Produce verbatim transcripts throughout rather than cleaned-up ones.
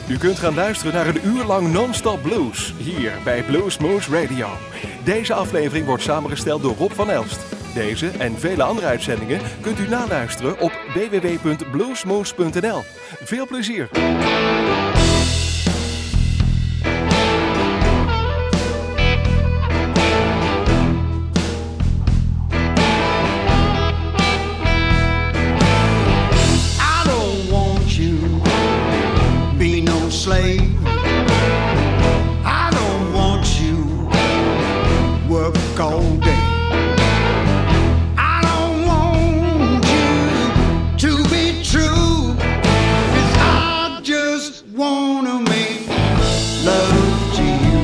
U kunt gaan luisteren naar een uur lang non-stop blues, hier bij Bluesmoose Radio. Deze aflevering wordt samengesteld door Rob van Elst. Deze en vele andere uitzendingen kunt u naluisteren op w w w punt bluesmoose punt n l. Veel plezier! Slave. I don't want you work all day. I don't want you to be true, 'cause I just wanna make love to you,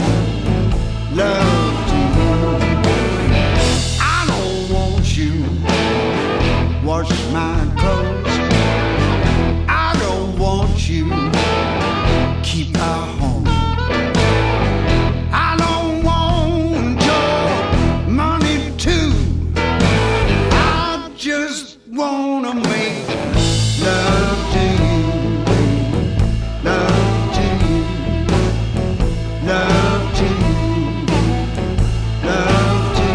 love to you. I don't want you wash my clothes. I don't want you keep our home. I don't want your money too. I just wanna make love to you, love to you, love to you, love to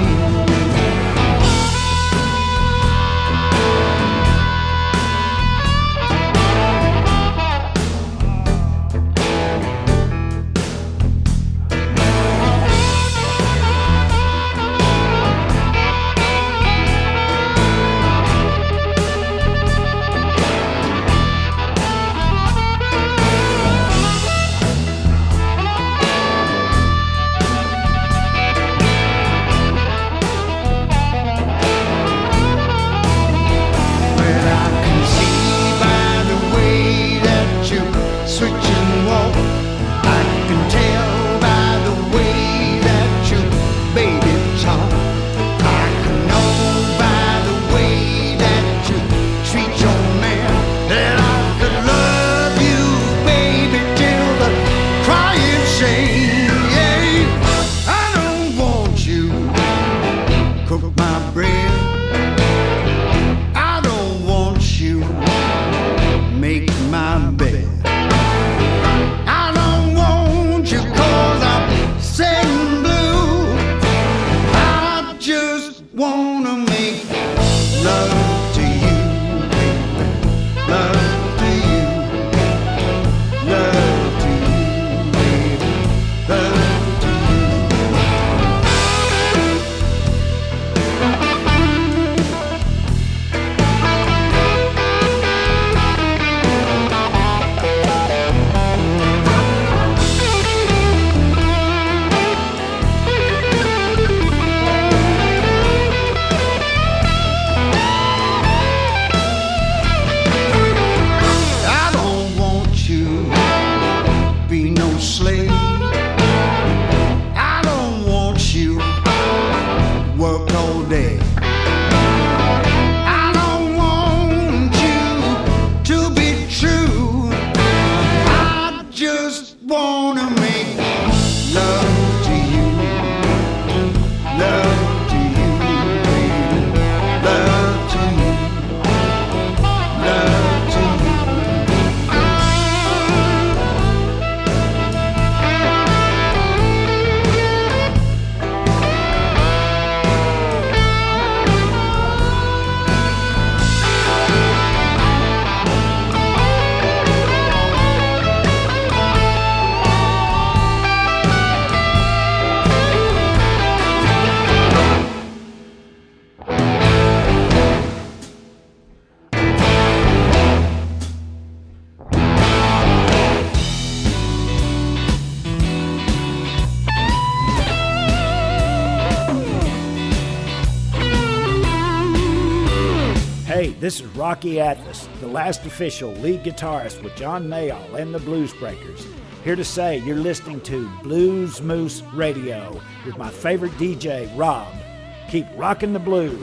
This is Rocky Atlas, the last official lead guitarist with John Mayall and the Blues Breakers. Here to say you're listening to Bluesmoose Radio with my favorite D J, Rob. Keep rocking the blues.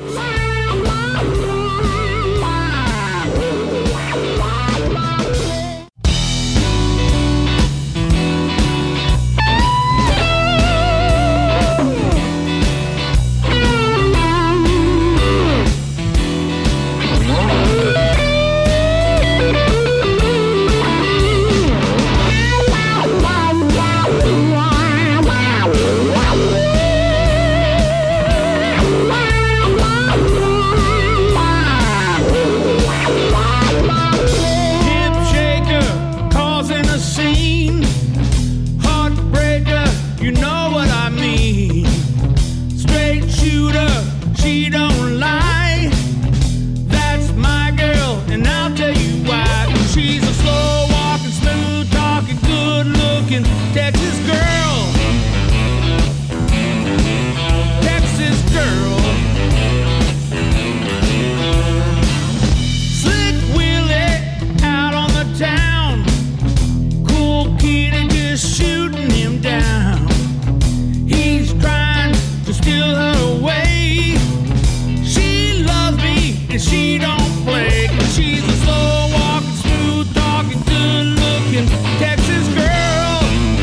she don't play. She's a slow walking, smooth talking, good looking Texas girl.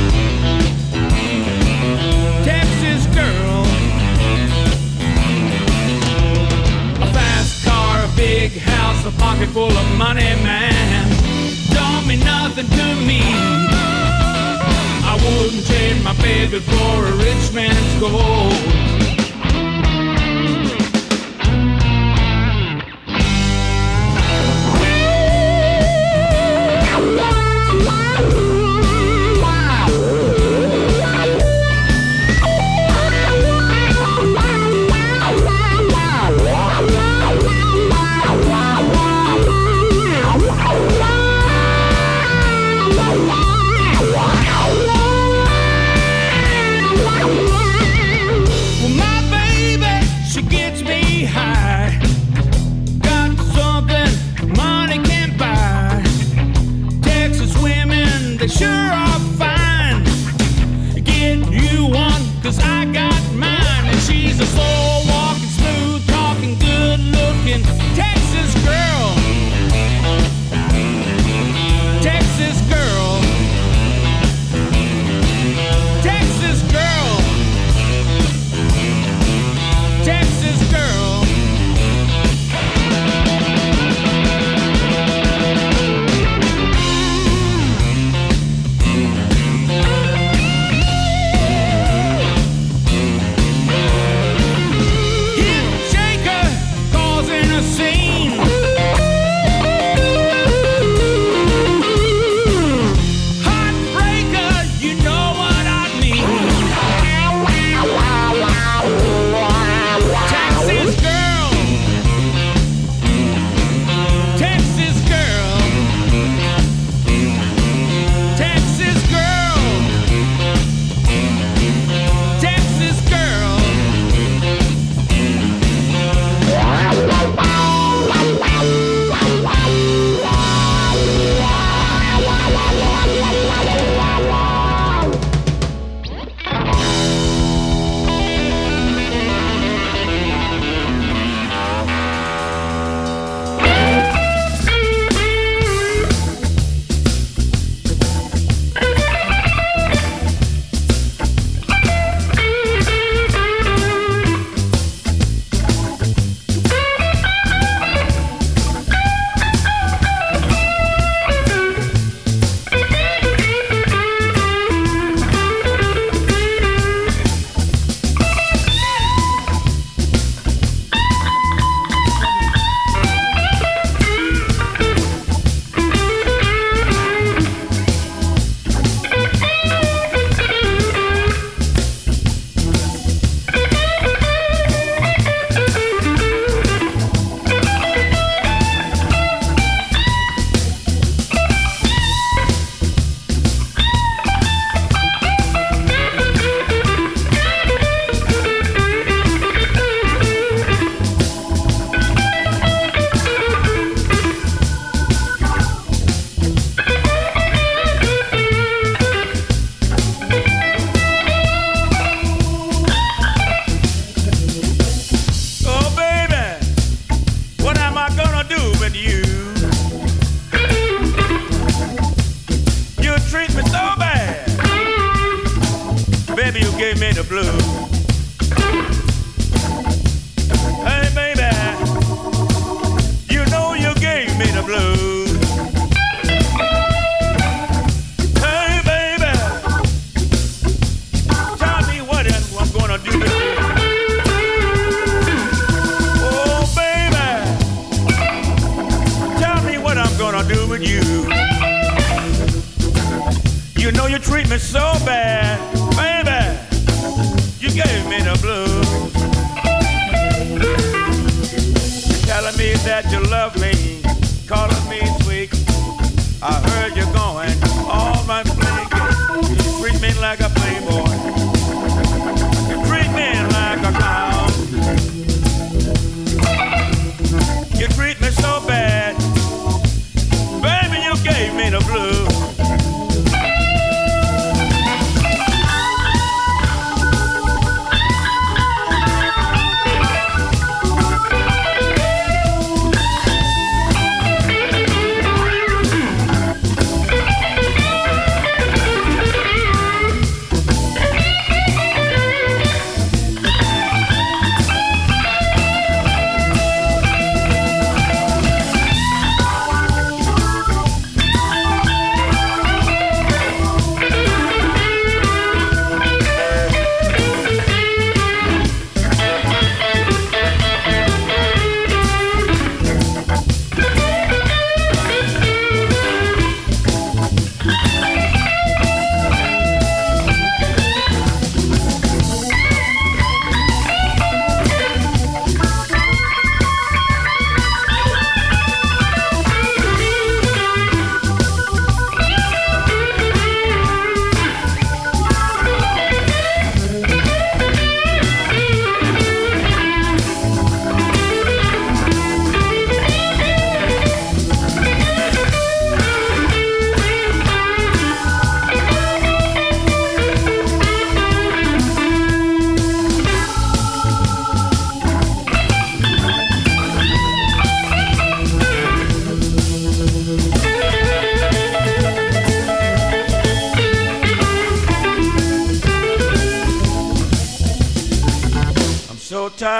Texas girl. A fast car, a big house, a pocket full of money, man. Don't mean nothing to me. I wouldn't trade my baby for a rich man's gold. Sure are fine. Get you one, cause I got mine. And she's a slow walking, smooth talking, good looking Texas girl. Texas girl. Texas girl. Texas girl.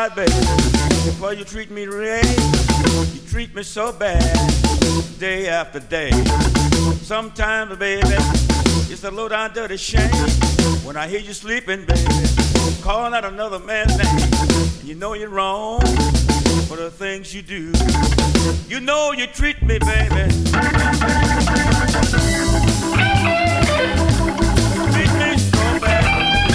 God, baby, before you treat me right, you treat me so bad, day after day. Sometimes, baby, it's a low down dirty shame when I hear you sleeping, baby, calling out another man's name. You know you're wrong for the things you do. You know you treat me, baby. Treat me so bad.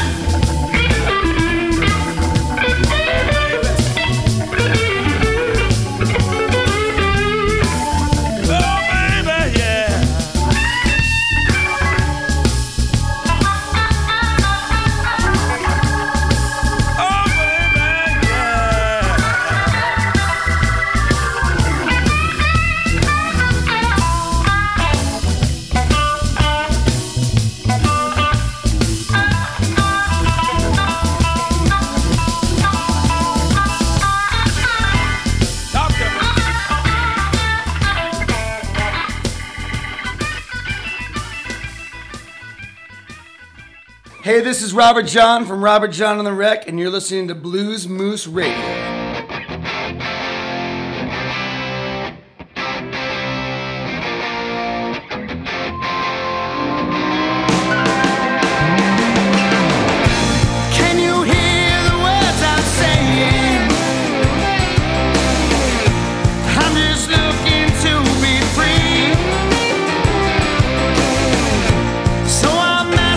Hey, this is Robert John from Robert John on the Wreck, and you're listening to Blues Moose Radio.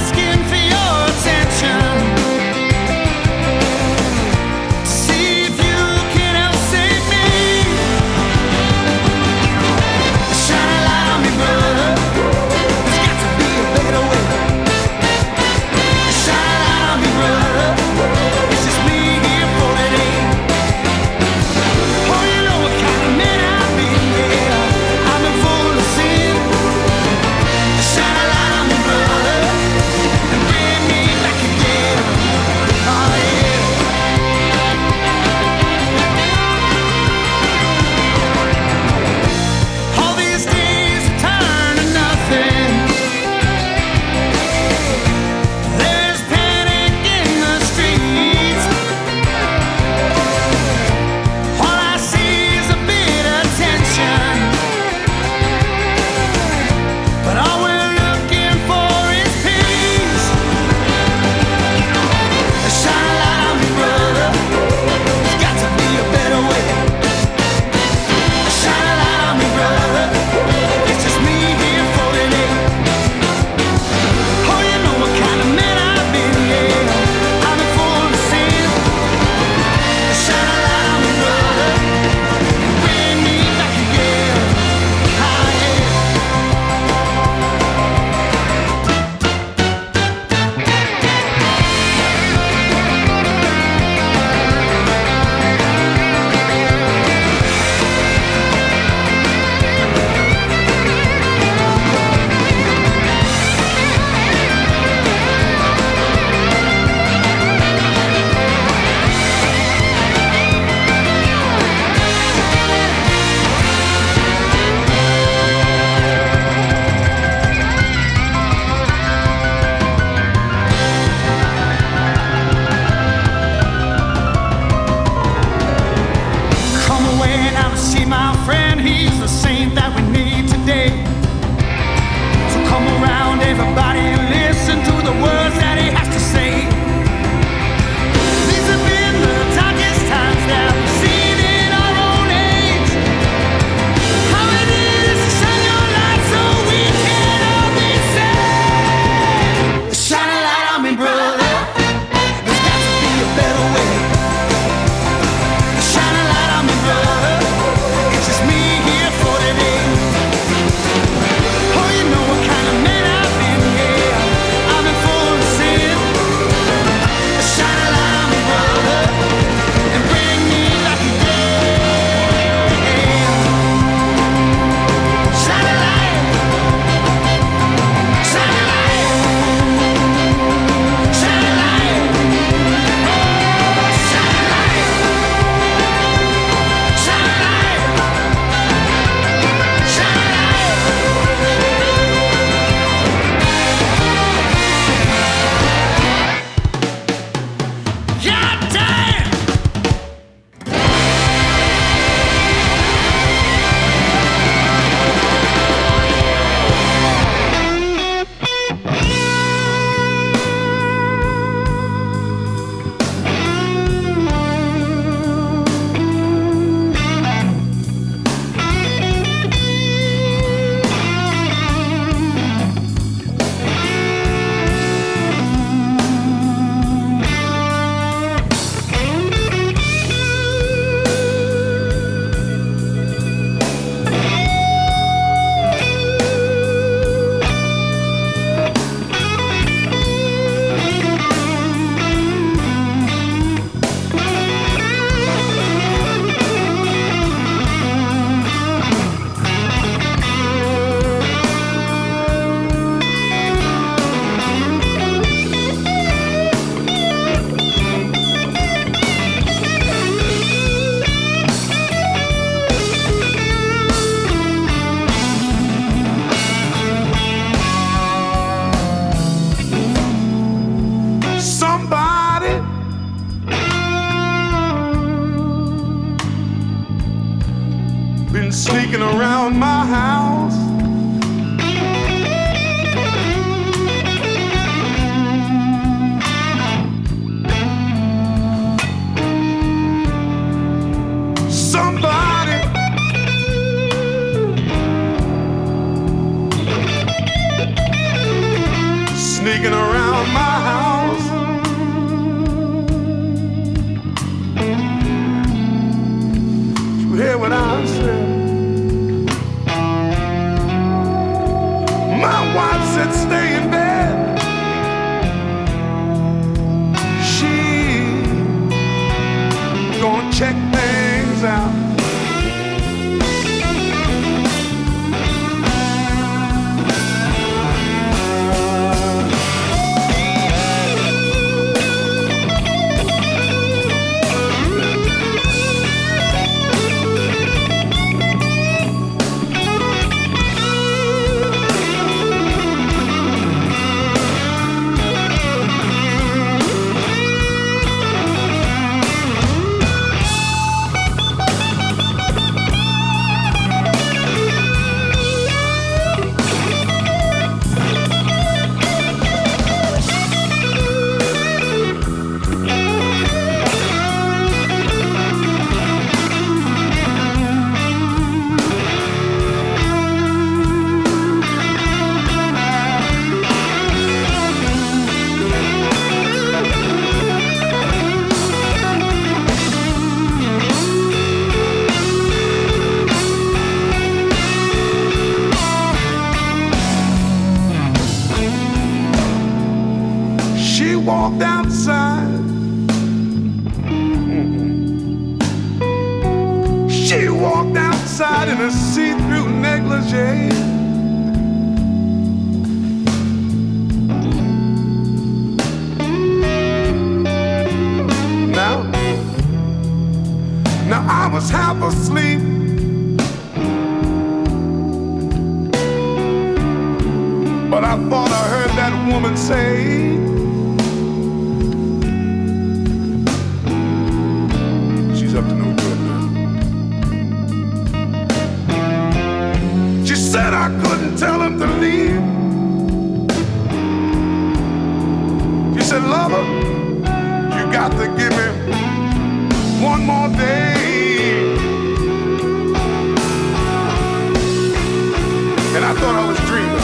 If you sneaking around my house. Somebody sneaking around my house. You hear what I said? My wife said stay in bed. She gonna check things out. Walked outside. She walked outside in a see-through negligee. Now, now I was half asleep. But I thought I heard that woman say, up to no good now. She said I couldn't tell him to leave. She said, lover, you got to give me one more day. And I thought I was dreaming.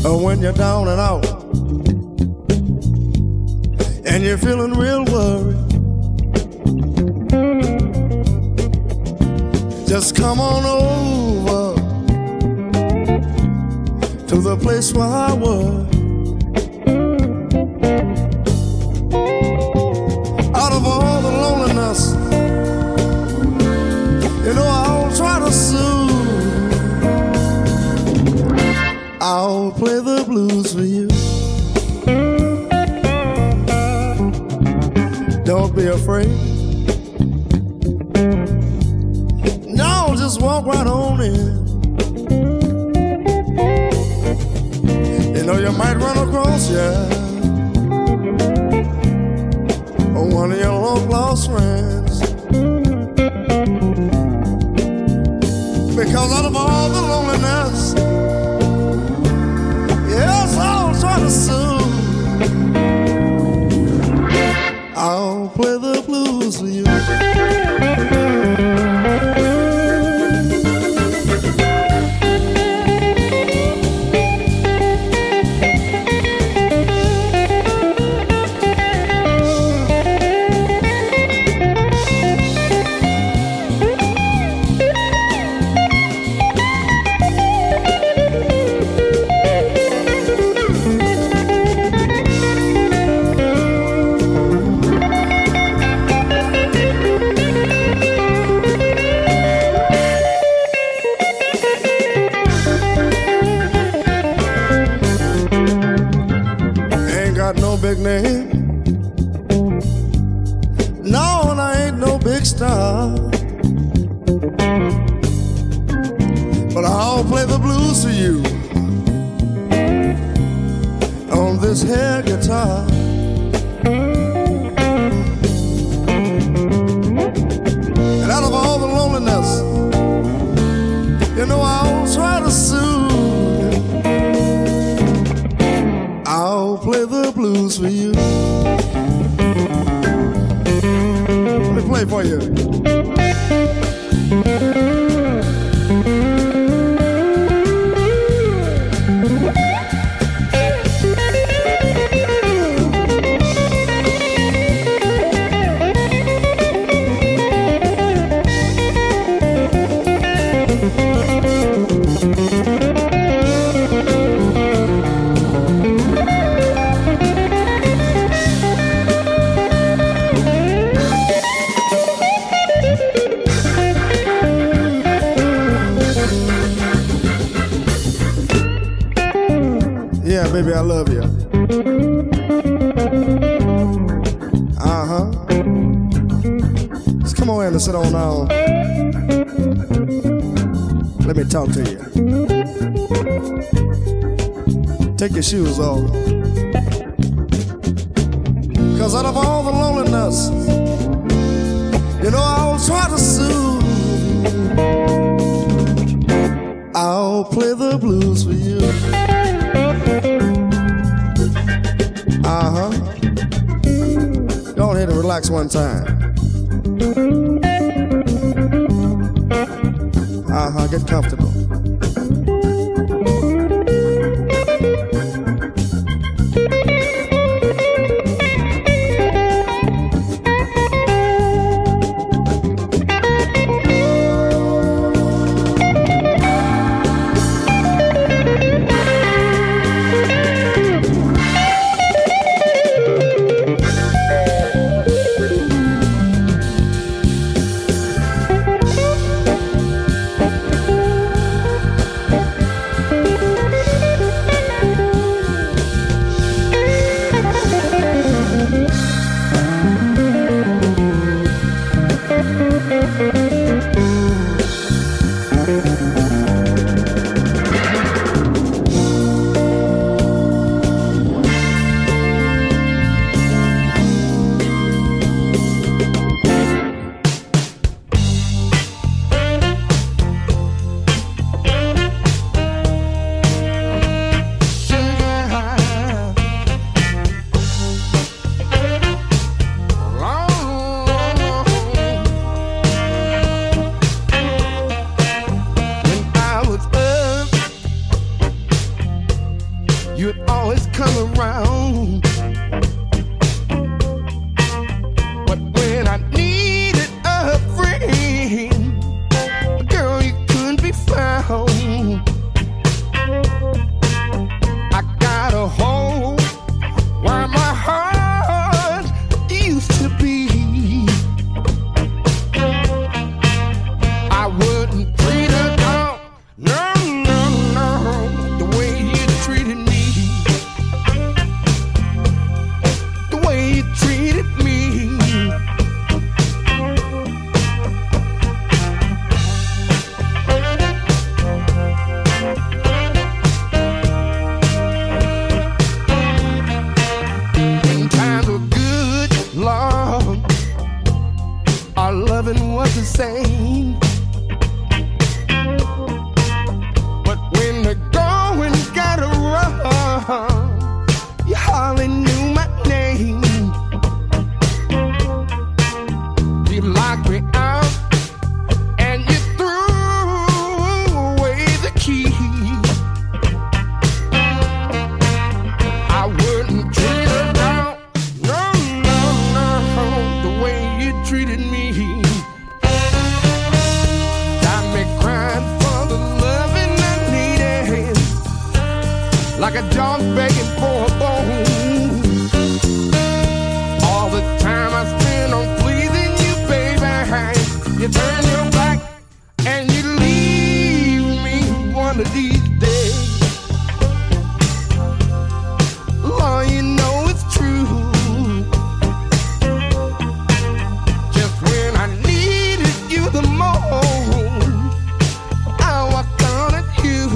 uh, when you're down and out and you're feeling real worried, just come on over to the place where I was. Out of all the loneliness, you know I'll try to soothe. I'll play the blues for you. Don't be afraid. No, just walk right on in. You know you might run across, yeah, one of your long lost friends. Because out of all the loneliness, yes, I'll try to soothe. I'll play the blues for you. Big name, no, and I ain't no big star, but I'll play the blues for you on this here guitar. And out of all the loneliness, you know I'll try to soothe. I'll play the blues for you. Let me play for you. Yeah, baby, I love you. Uh-huh. Just come on in and sit on down. Let me talk to you. Take your shoes off. Cause out of all the loneliness, you know I'll try to soothe. I'll play the blues for you. Uh-huh. Go ahead and relax one time. Uh-huh, get comfortable. you'd always come around. But when I needed a friend, girl, you couldn't be found. I got a hole where my heart used to be. I wouldn't treat her down, no, no, no, the way you treated me, the way you treated me. When times were good, Lord, our loving was the same. But when the going got rough, you hardly knew my name. You locked me out and you threw away the key. I wouldn't treat her down, no, no, no, the way you treated me. Got me crying for the loving I needed, like a dog begging for a bone. All the time I spent on pleasing you, baby, you turn your back and you leave me one of these days. Lord, you know it's true. Just when I needed you the most, I walked on at you.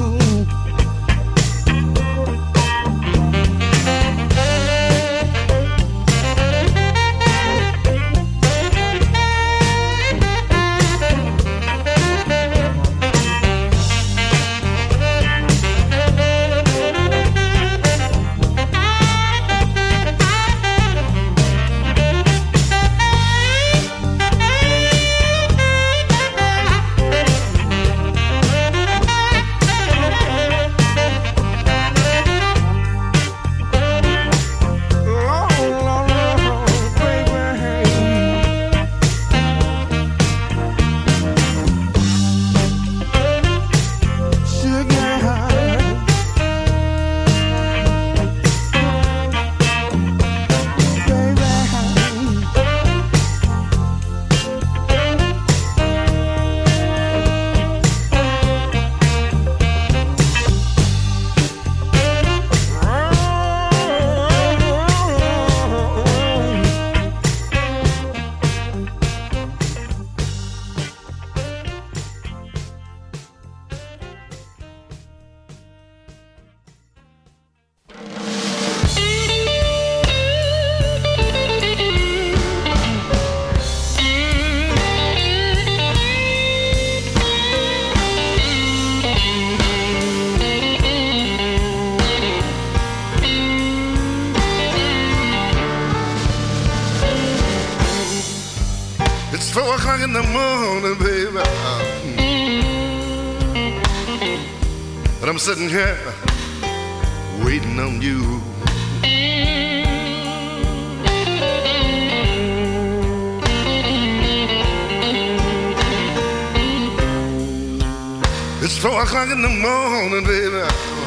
It's four o'clock in the morning, baby, and I'm sitting here waiting on you. It's four o'clock in the morning, baby,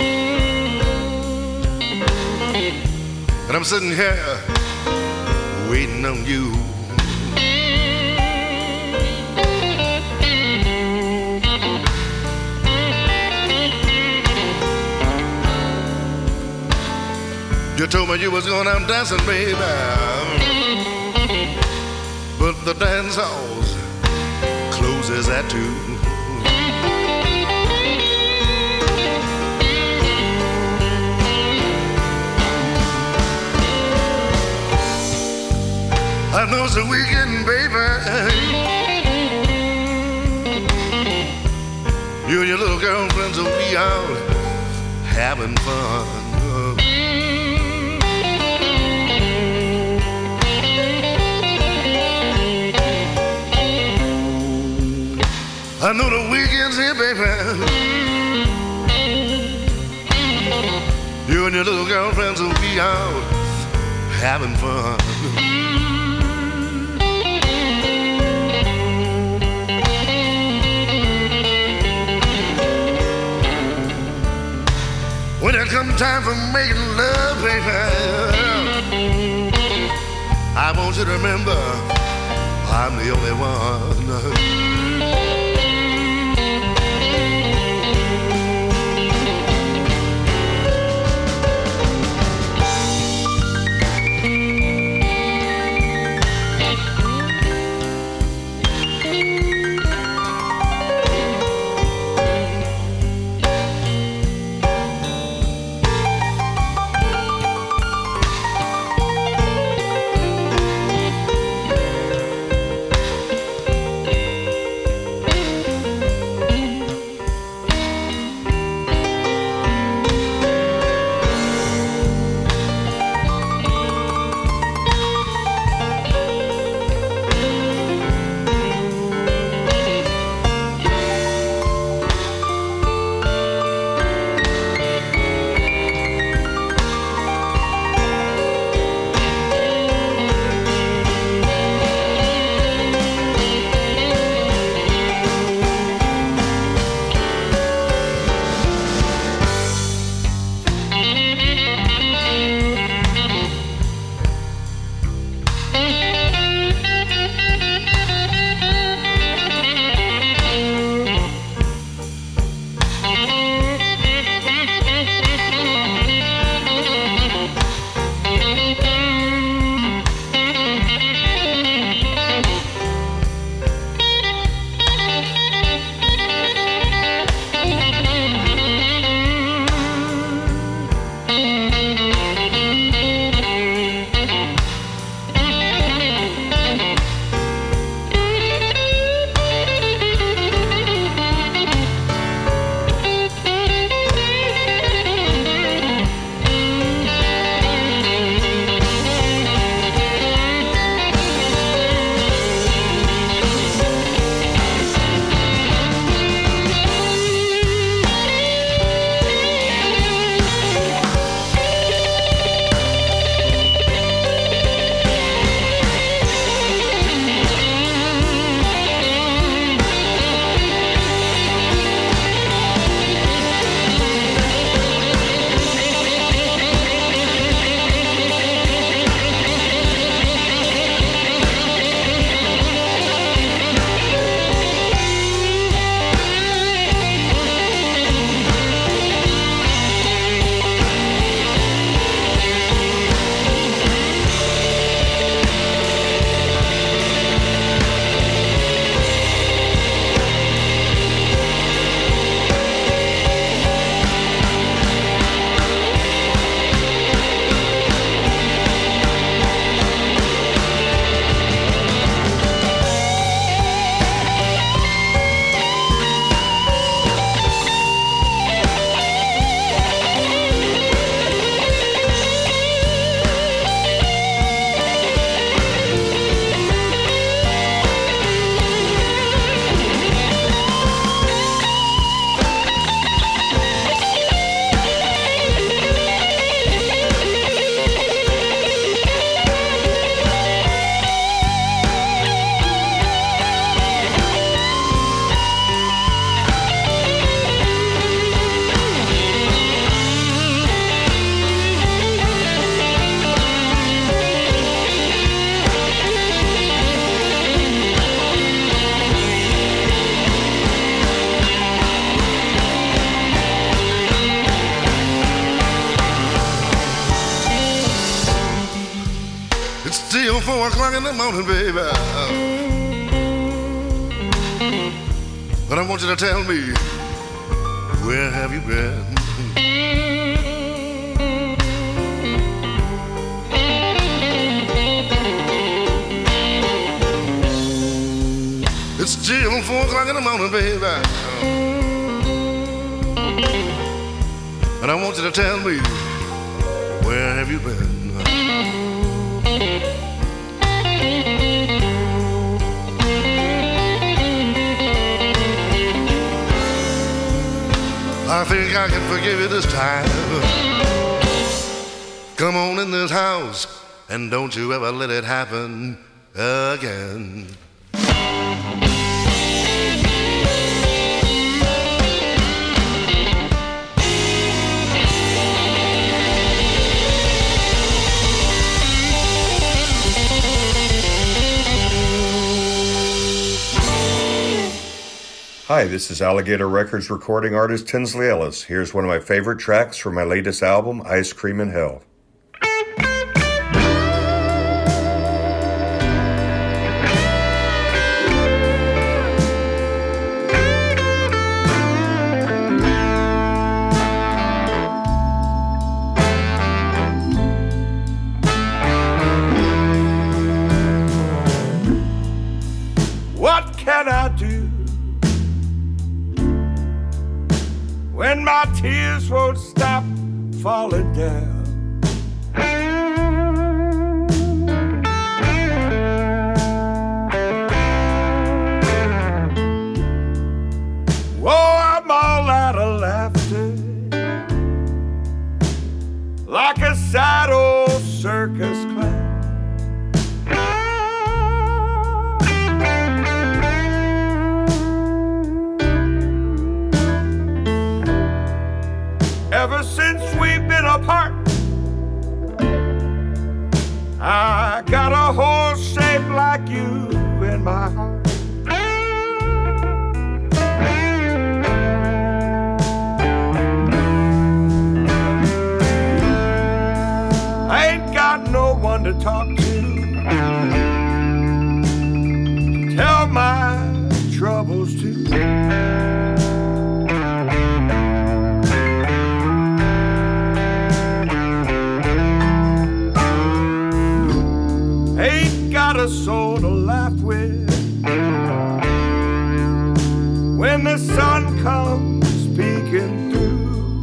and I'm sitting here waiting on you. You told me you was going out dancing, baby, but the dance halls closes at two. I know it's a weekend, baby. You and your little girlfriends will be out having fun. I know the weekend's here, baby. You and and your little girlfriends will be out having fun. When it comes time for making love, baby, I want you to remember I'm the only one. Four o'clock in the morning, baby. But I want you to tell me, where have you been? It's still four o'clock in the morning, baby. And I want you to tell me, where have you been? I think I can forgive you this time. Come on in this house and don't you ever let it happen again. Hi, this is Alligator Records recording artist Tinsley Ellis. Here's one of my favorite tracks from my latest album, Ice Cream in Hell. What can I do when my tears won't stop falling down? Oh, I'm all out of laughter, like a sad old circus clown. Ever since we've been apart, I got a hole shaped like you in my heart. I ain't got no one to talk to, to tell my troubles to. Ain't got a soul to laugh with when the sun comes peeking through.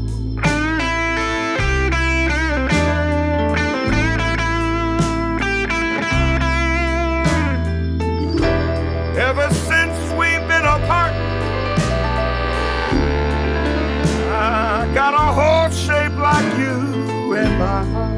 Ever since we've been apart, I got a hole shaped like you in my heart.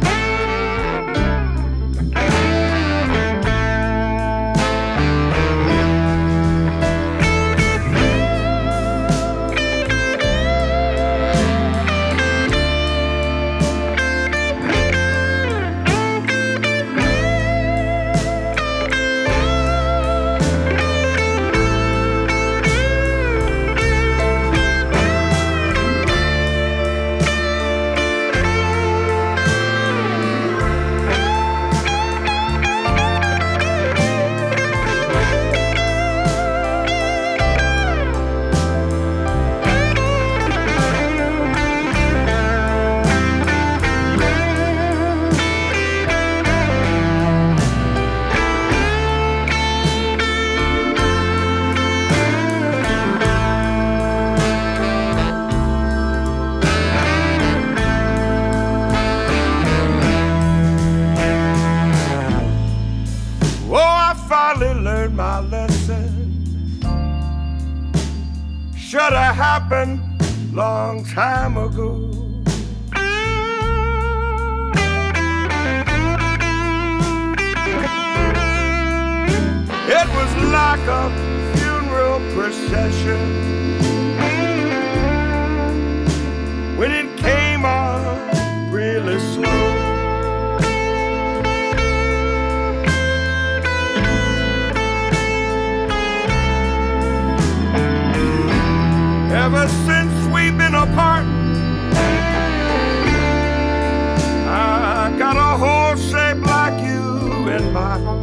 My lesson should have happened long time ago. It was like a funeral procession when it came on really slow. Ever since we've been apart, I got a hole shaped like you in my heart.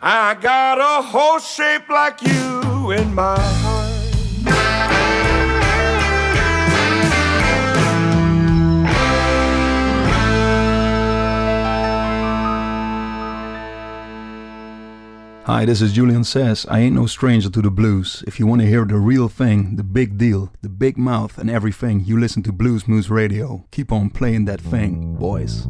I got a horse shaped like you in my heart. Hi, this is Julian Says. I ain't no stranger to the blues. If you want to hear the real thing, the big deal, the big mouth and everything, you listen to Blues Moose Radio. Keep on playing that thing, boys.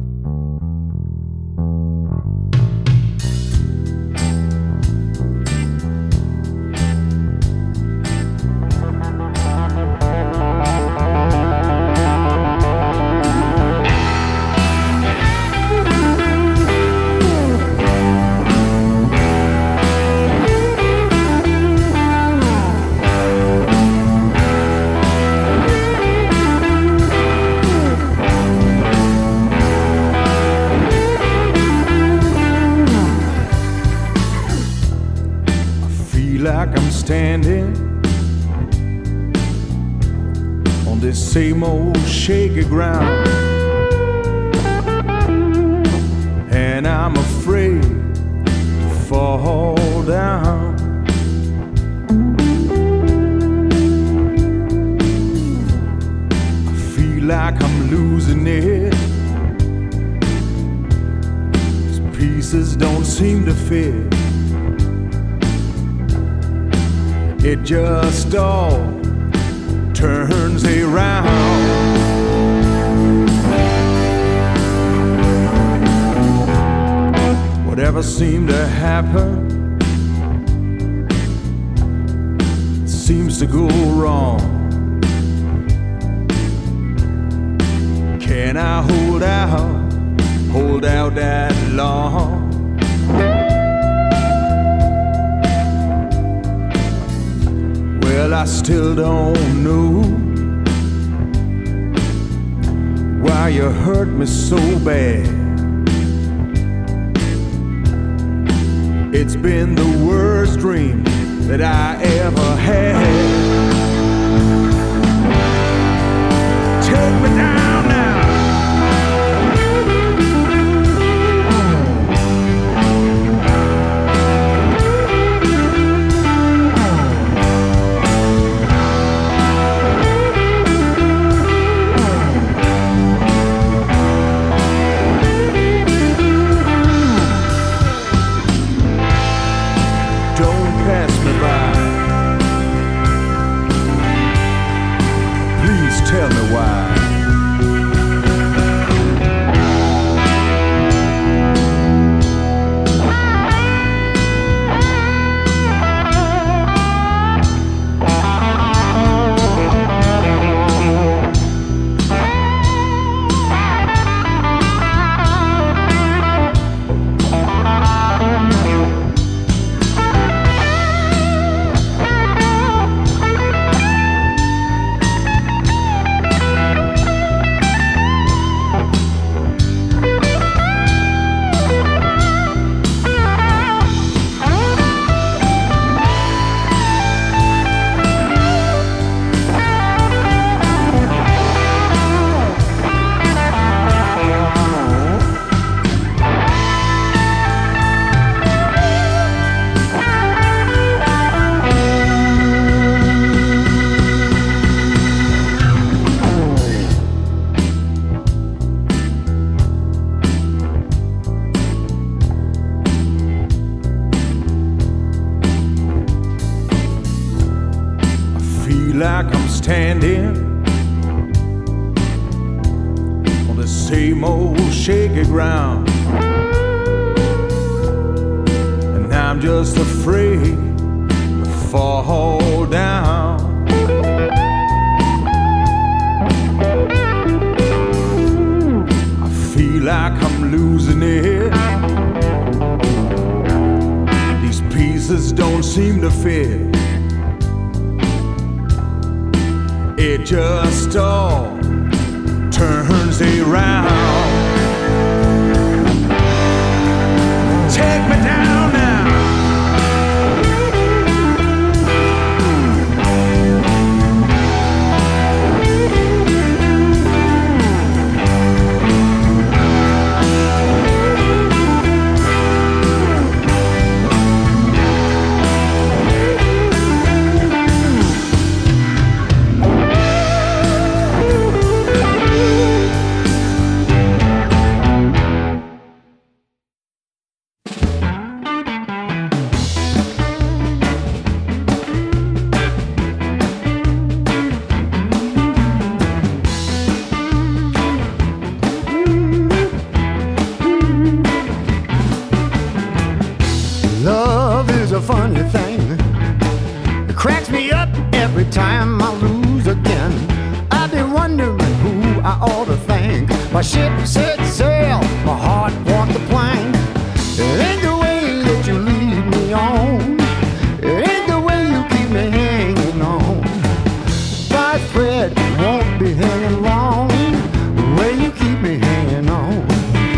Like I'm standing on this same old shaky ground, and I'm afraid to fall down. I feel like I'm losing it. These pieces don't seem to fit. It just all turns around. Whatever seemed to happen seems to go wrong. Can I hold out, hold out that long? Well, I still don't know why you hurt me so bad. It's been the worst dream that I ever had. Take me down now. Tell me why. Like I'm standing on the same old shaky ground, and I'm just afraid to fall down. I feel like I'm losing it. These pieces don't seem to fit. It just all turns around. Take me down now. love is a funny thing. It cracks me up every time I lose again. I've been wondering who I ought to thank. My ship set sail, my heart walked the plank. It ain't the way that you lead me on. It ain't the way you keep me hanging on. By thread won't be hanging long. The way you keep me hanging on.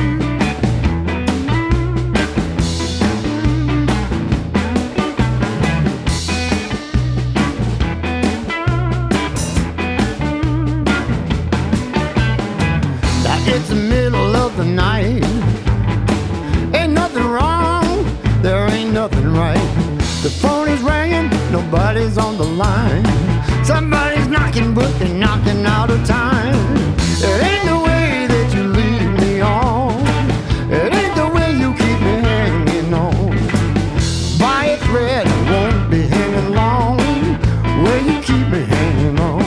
It's the middle of the night. Ain't nothing wrong, there ain't nothing right. The phone is ringing, nobody's on the line. Somebody's knocking, but they're knocking out of time. It ain't the way that you lead me on. It ain't the way you keep me hanging on. By a thread, I won't be hanging long. Where you keep me hanging on.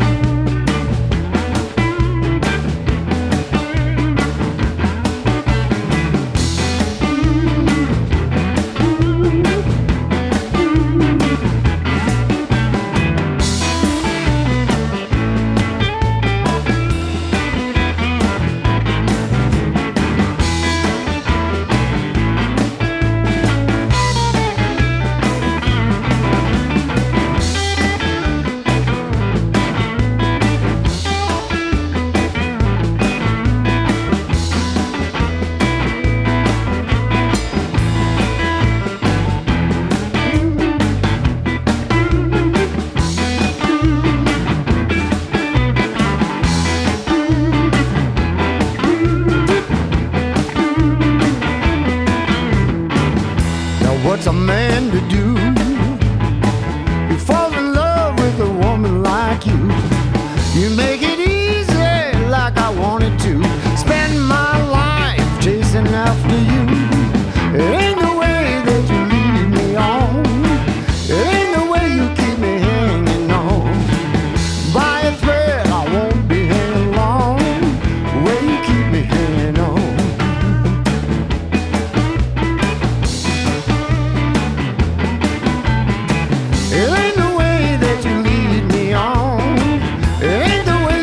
What's a man to do? You fall in love with a woman like you. You make it easy like I wanted to. Spend my life chasing after you. It ain't the way that you lead me on. It ain't the way you keep me hanging on. By a thread I won't be hanging long. The way you keep me hanging on. It ain't the way that you lead me on. It ain't the way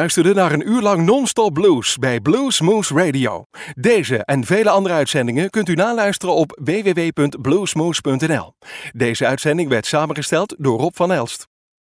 luisterde naar een uur lang non-stop blues bij Blues Moose Radio. Deze en vele andere uitzendingen kunt u naluisteren op w w w punt bluesmoose punt n l. Deze uitzending werd samengesteld door Rob van Elst.